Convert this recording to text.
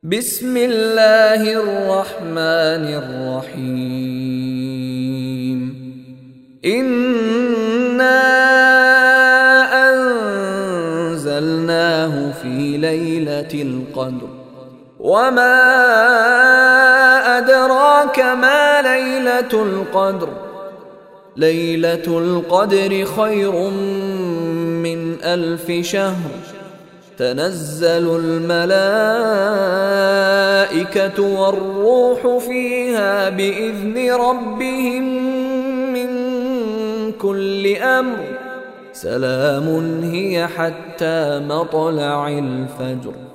بسم الله الرحمن الرحيم. إنا أنزلناه في ليلة القدر وما أدراك ما ليلة القدر. ليلة القدر خير من 1000 شهر. تنزل الملائكة والروح فيها بإذن ربهم من كل أمر. سلام هي حتى مطلع الفجر.